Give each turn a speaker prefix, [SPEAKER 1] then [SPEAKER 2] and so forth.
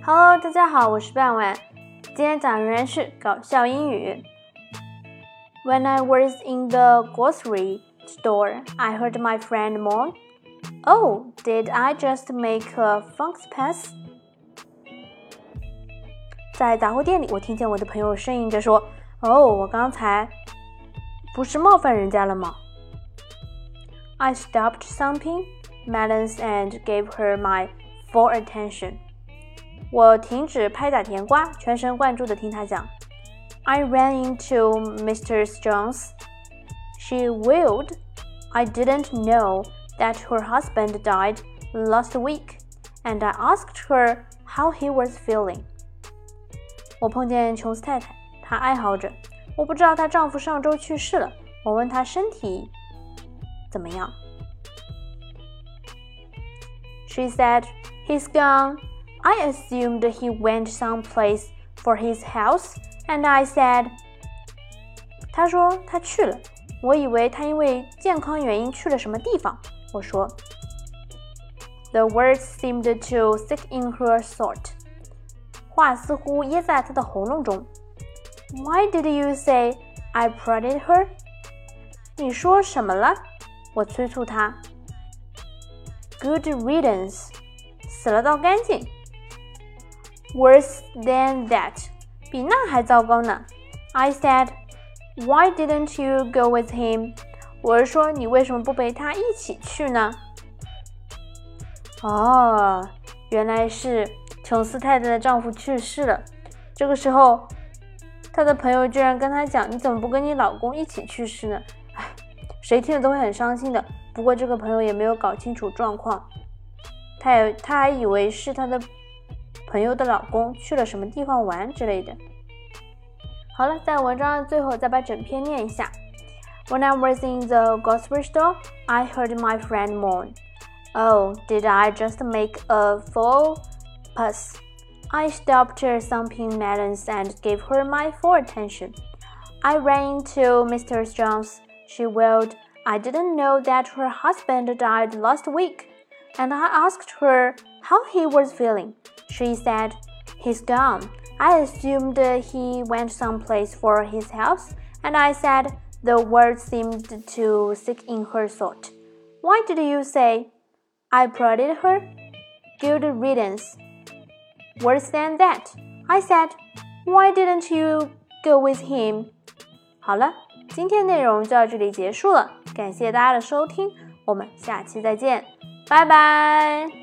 [SPEAKER 1] Hello， 大家好，我是半晚。今天讲仍然是搞笑英语。When I was in the grocery store, I heard my friend moan, "Oh, did I just make a funks pass?" 在杂货店里，我听见我的朋友呻吟着说：“哦，我刚才不是冒犯人家了吗？” I stopped thumping melons and gave her my full attention. 我停止拍打甜瓜，全神贯注地听她讲。I ran into Mrs. Jones. She wailed. I didn't know that her husband died last week, and I asked her how he was feeling. 我碰见琼斯太太，她哀嚎着。我不知道她丈夫上周去世了，我问她身体怎么样。She said, "He's gone. I assumed he went someplace for his health, and I said," 她说她去了，我以为她因为健康原因去了什么地方。我说 The words seemed to stick in her throat. 话似乎噎在她的喉咙中。Why did you say I prodded her? 你说什么了？我催促她。Good riddance. 死了倒干净。Worse than that. 比那还糟糕呢。I said, "Why didn't you go with him?" 我是说，你为什么不陪他一起去呢？哦，原来是琼斯太太的丈夫去世了。这个时候，她的朋友居然跟她讲：“你怎么不跟你老公一起去世呢？”唉，谁听了都会很伤心的。不过这个朋友也没有搞清楚状况，他还以为是他的朋友的老公去了什么地方玩之类的。好了，在文章的最后再把整篇念一下。When I was in the grocery store, I heard my friend moan. "Oh, did I just make a full pass?" I stopped thumping melons and gave her my full attention. I ran into Mrs. Jones. She wailed, "I didn't know that her husband died last week." And I asked her how he was feeling. She said, "He's gone. I assumed he went someplace for his health." And I said, the words seemed to stick in her throat. Why did you say I prodded her? Good riddance. Worse than that. I said, why didn't you go with him? 好了，今天内容就到这里结束了，感谢大家的收听，我们下期再见，拜拜。